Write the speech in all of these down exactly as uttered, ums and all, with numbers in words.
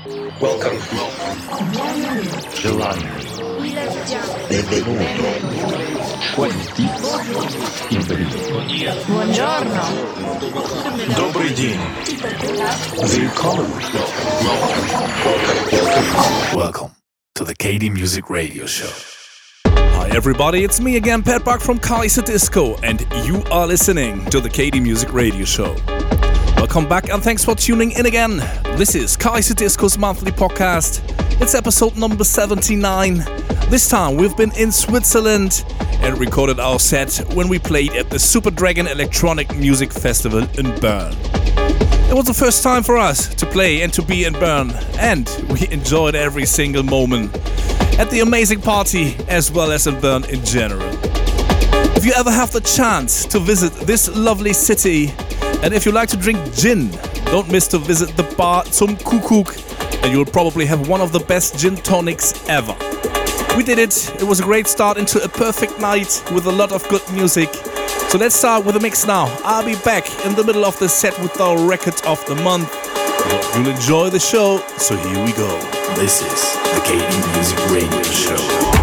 Welcome. Желаю. Benvenuto. Quanti. Buongiorno. Добрый день. Willkommen. Welcome to the K D Music Radio Show. Hi everybody, it's me again, Pat Buck from Kaiserdisco, and you are listening to the K D Music Radio Show. Welcome back and thanks for tuning in again. This is Kaiserdisco's monthly podcast. It's episode number seventy-nine. This time we've been in Switzerland and recorded our set when we played at the Super Dragon Electronic Music Festival in Bern. It was the first time for us to play and to be in Bern, and we enjoyed every single moment at the amazing party as well as in Bern in general. If you ever have the chance to visit this lovely city, and if you like to drink gin, don't miss to visit the bar Zum Kuckuck, and you'll probably have one of the best gin tonics ever. We did it, it was a great start into a perfect night with a lot of good music. So let's start with a mix now. I'll be back in the middle of the set with our record of the month. I hope you'll enjoy the show, so here we go. This is the K D Music Radio Show.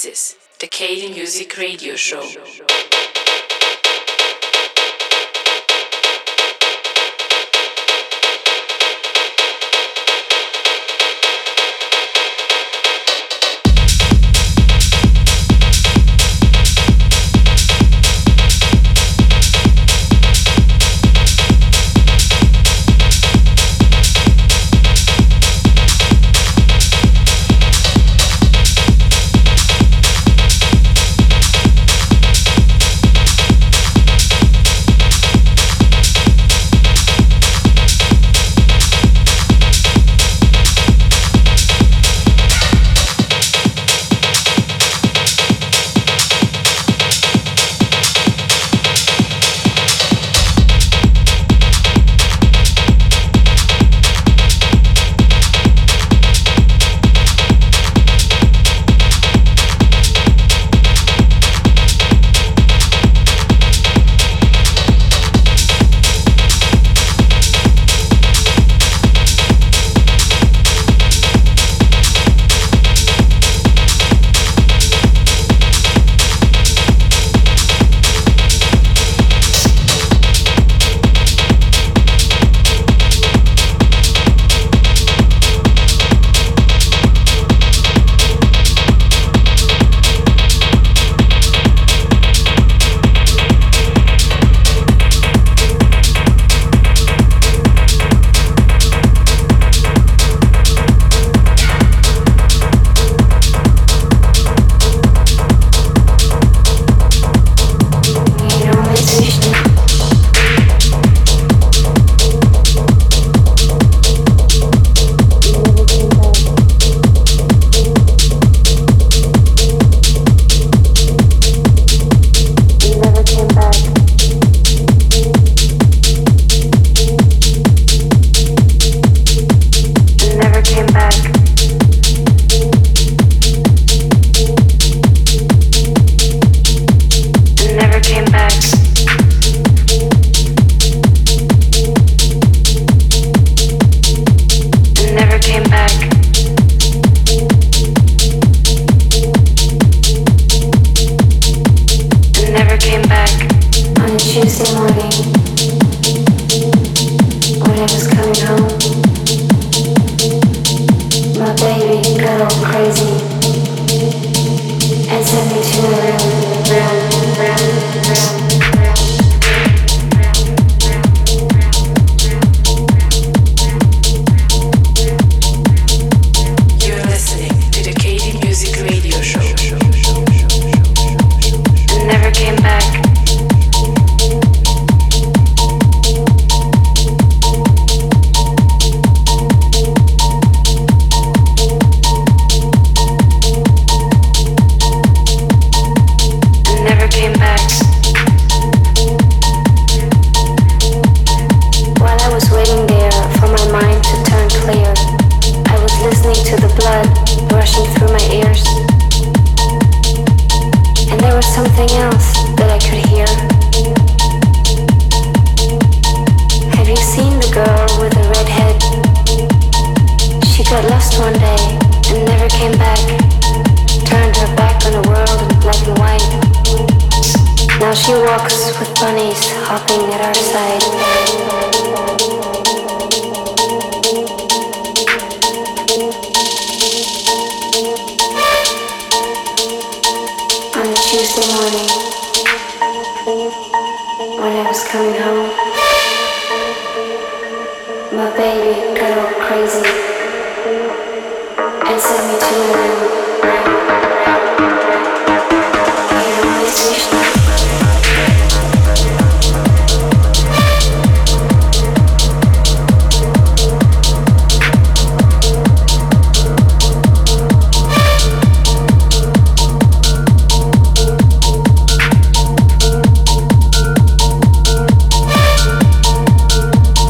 This is the K D Music Radio Show.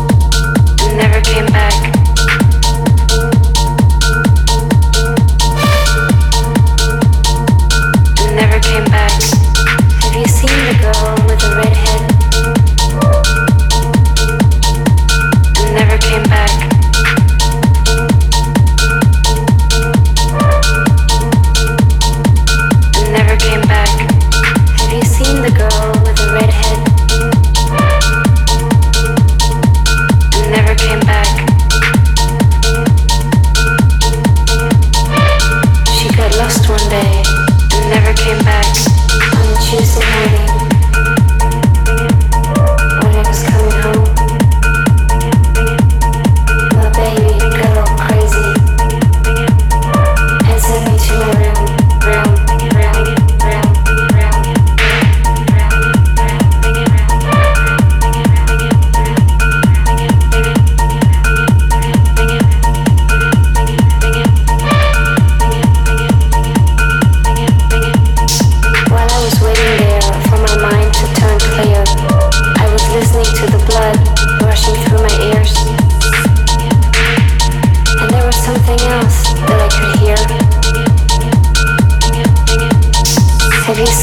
Never came back.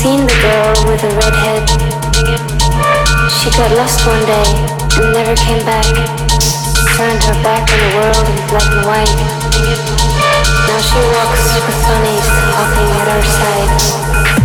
seen the girl with the red head? She got lost one day and never came back. Turned her back on the world in black and white. Now she walks with bunnies hopping at her side.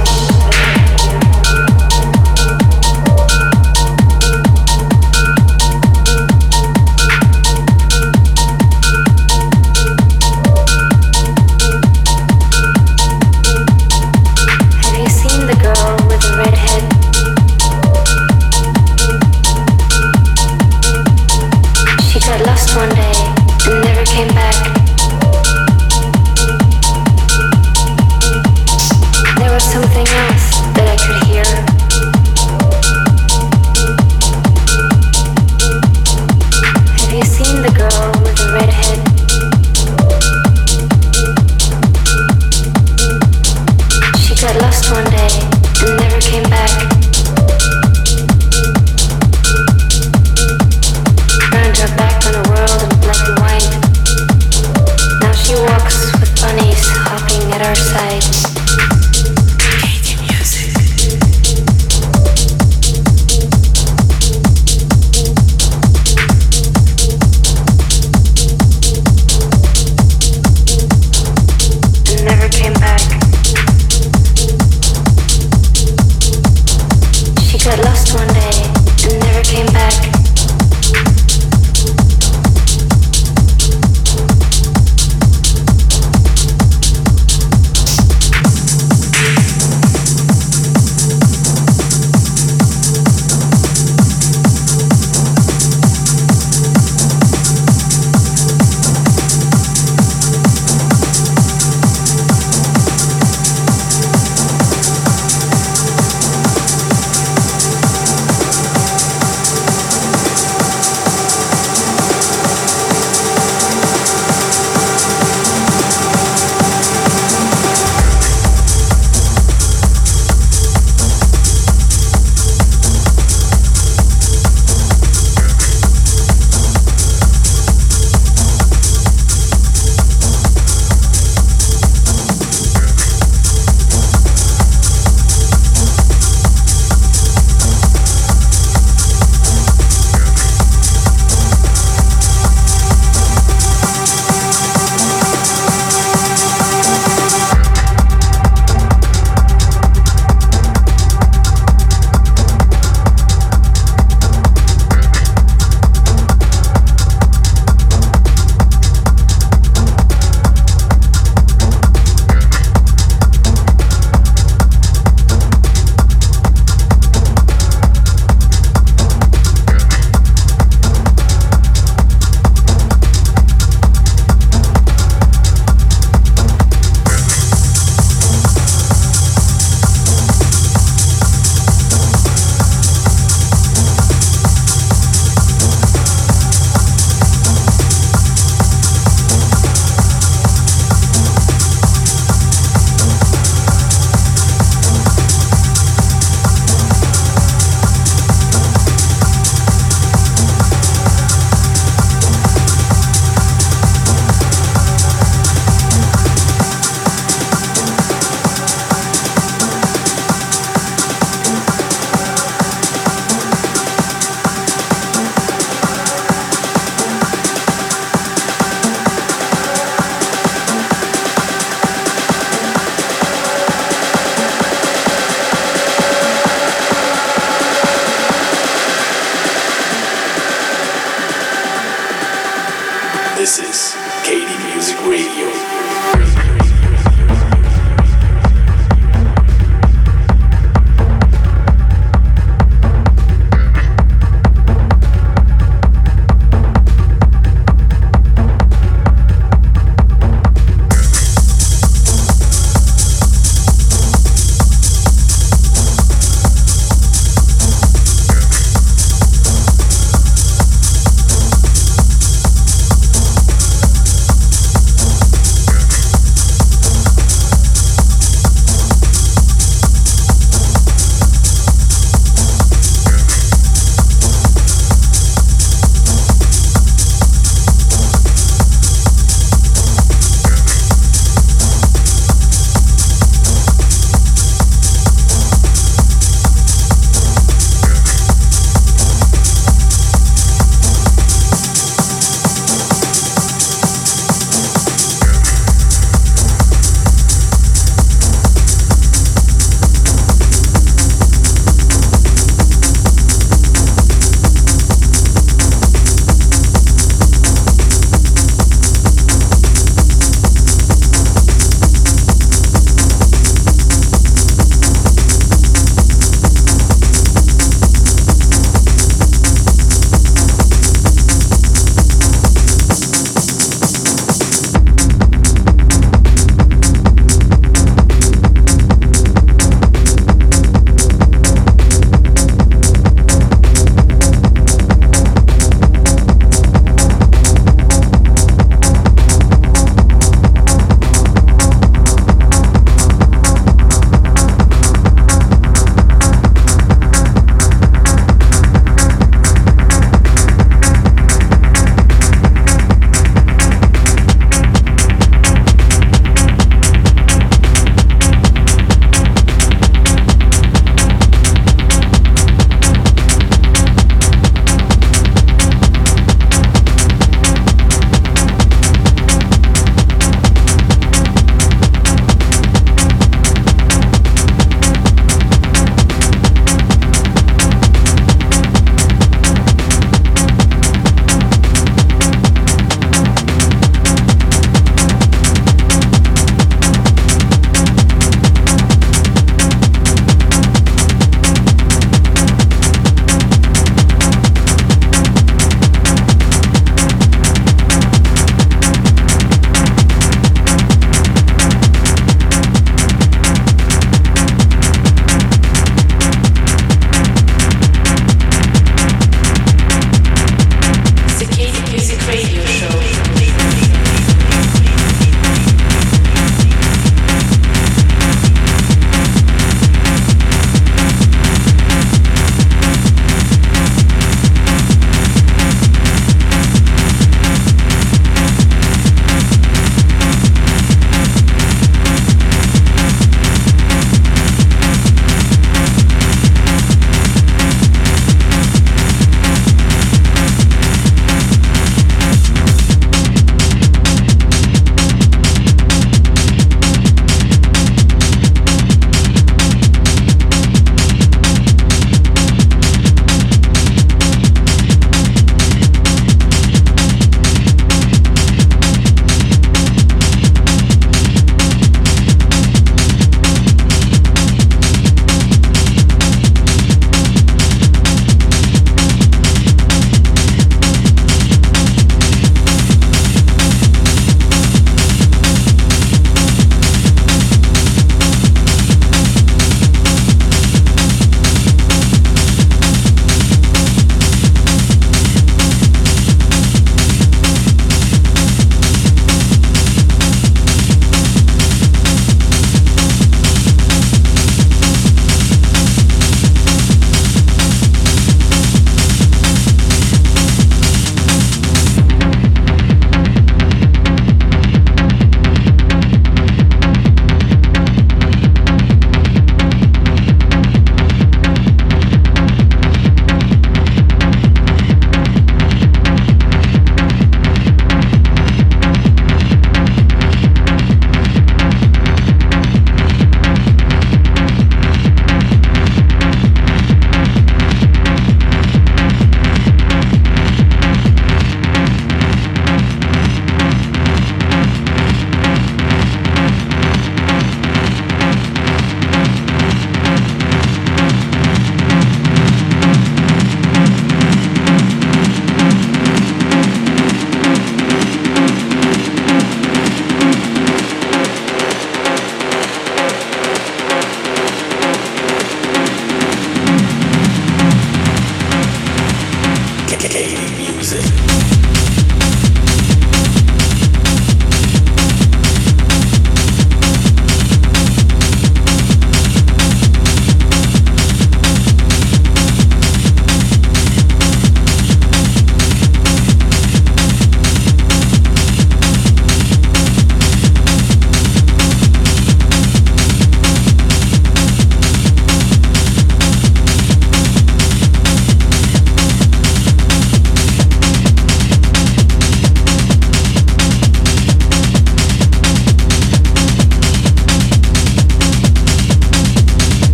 This is K D Music Radio.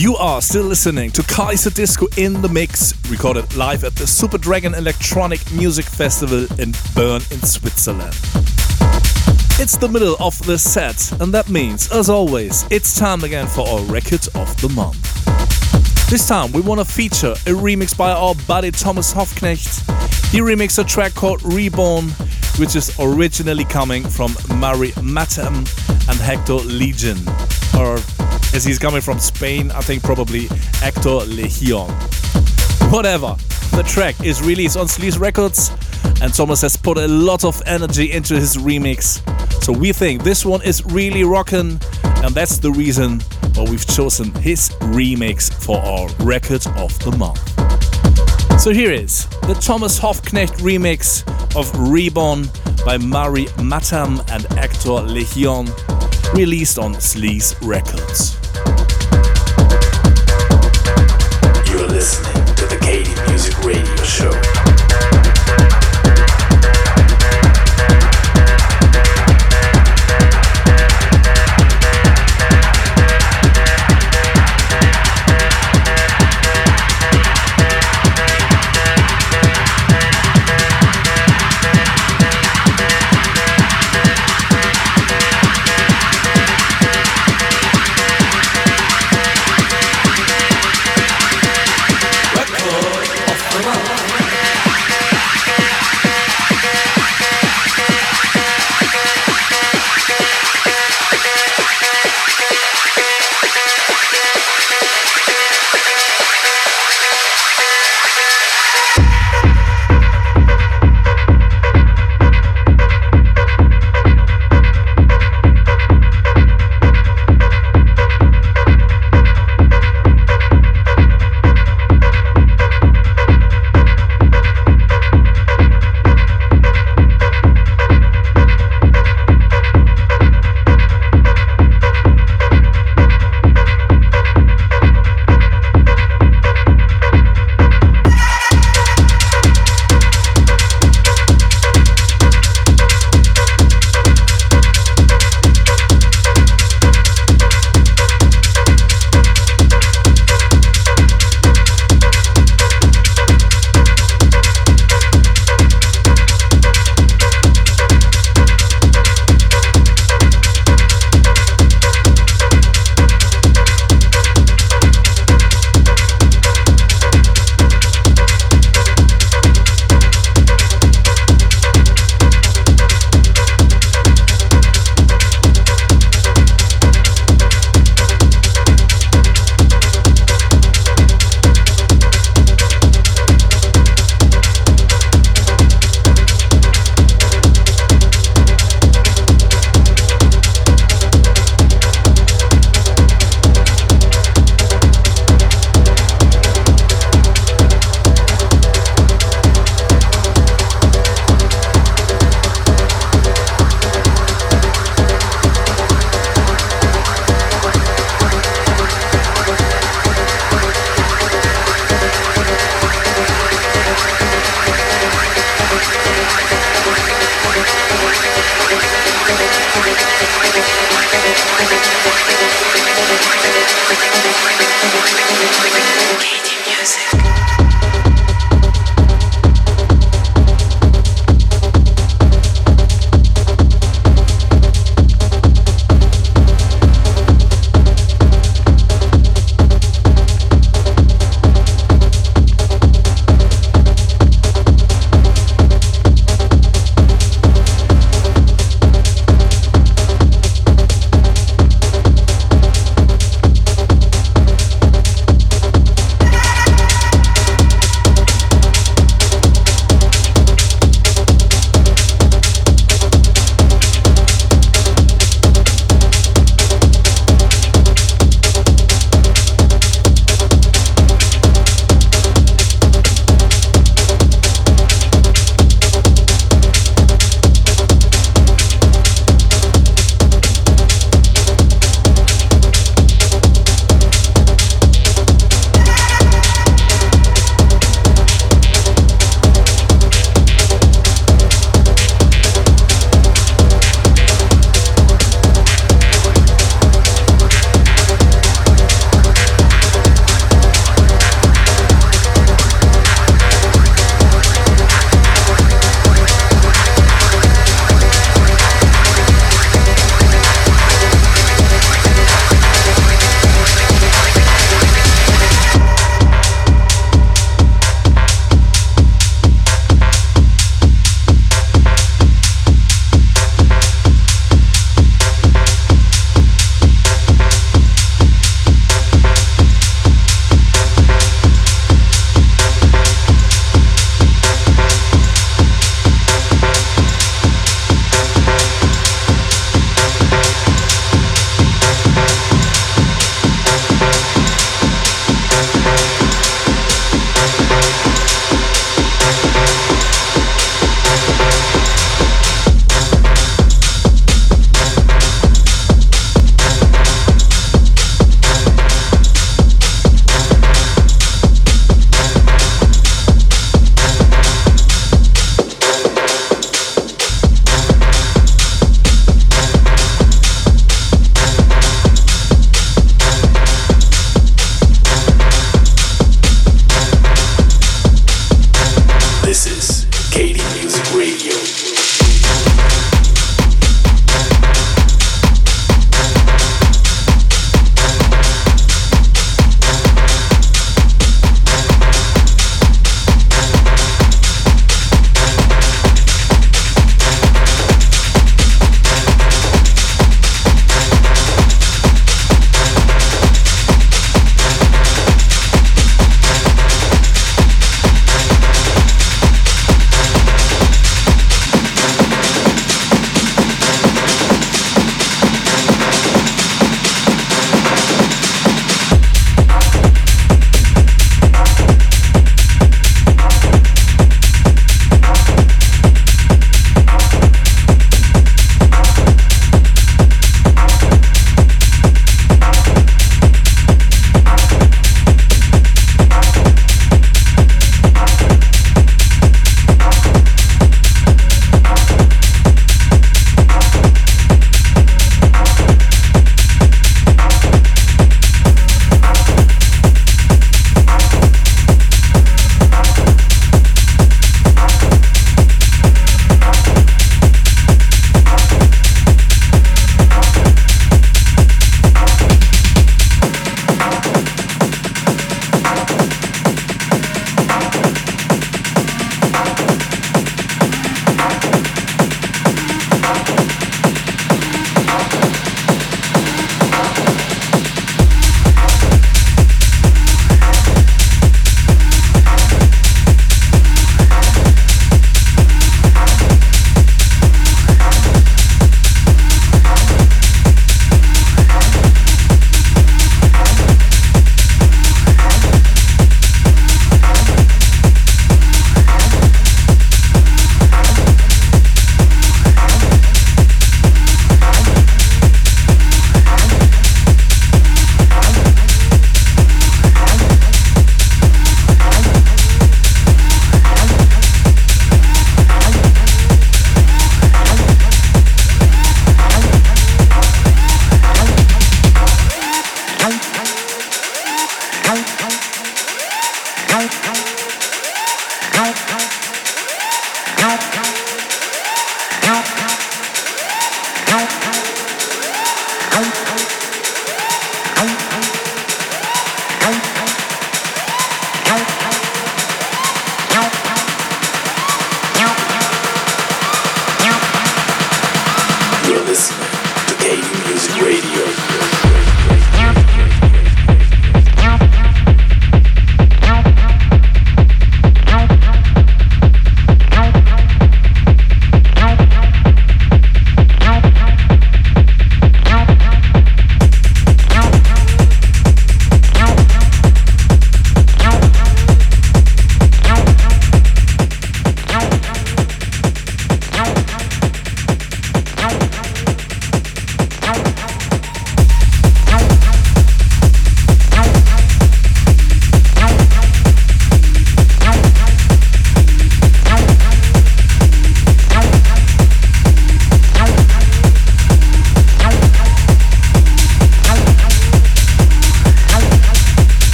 You are still listening to Kaiserdisco in the Mix, recorded live at the Super Dragon Electronic Music Festival in Bern in Switzerland. It's the middle of the set, and that means, as always, it's time again for our Record of the Month. This time we want to feature a remix by our buddy Thomas Hofknecht. He remixed a track called Reborn, which is originally coming from Mari Matem and Hector Legion, or as he's coming from Spain, I think probably Hector Legion. Whatever, the track is released on Sleaze Records, and Thomas has put a lot of energy into his remix. So we think this one is really rockin', and that's the reason why we've chosen his remix for our Record of the Month. So here is the Thomas Hofknecht remix of Reborn by Mari Matam and Hector Legion, released on Sleaze Records. You're listening to the K D Music Radio Show. Record of the month.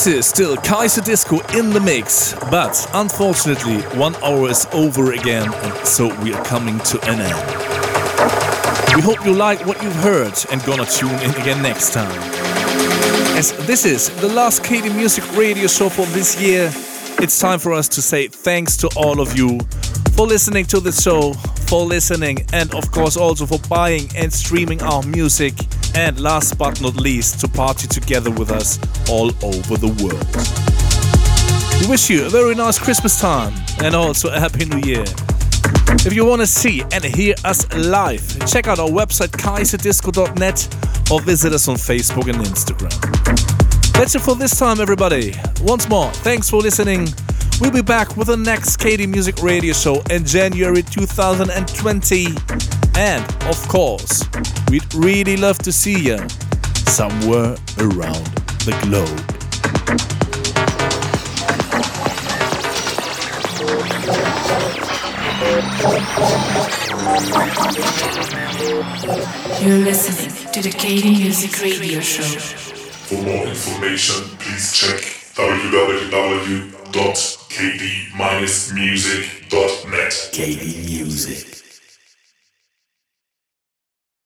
This is still Kaiserdisco in the mix, but unfortunately one hour is over again, and so we are coming to an end. We hope you like what you've heard and gonna tune in again next time. As this is the last K D Music Radio Show for this year, it's time for us to say thanks to all of you for listening to the show, for listening, and of course also for buying and streaming our music, and last but not least to party together with us all over the world. We wish you a very nice Christmas time and also a Happy New Year. If you want to see and hear us live, check out our website kaiserdisco dot net or visit us on Facebook and Instagram. That's it for this time, everybody. Once more, thanks for listening. We'll be back with the next K D Music Radio Show in January two thousand twenty. And, of course, we'd really love to see you somewhere around the globe. You're listening to the K D Music Radio Show. For more information, please check w w w dot k d dash music dot net. K D Music.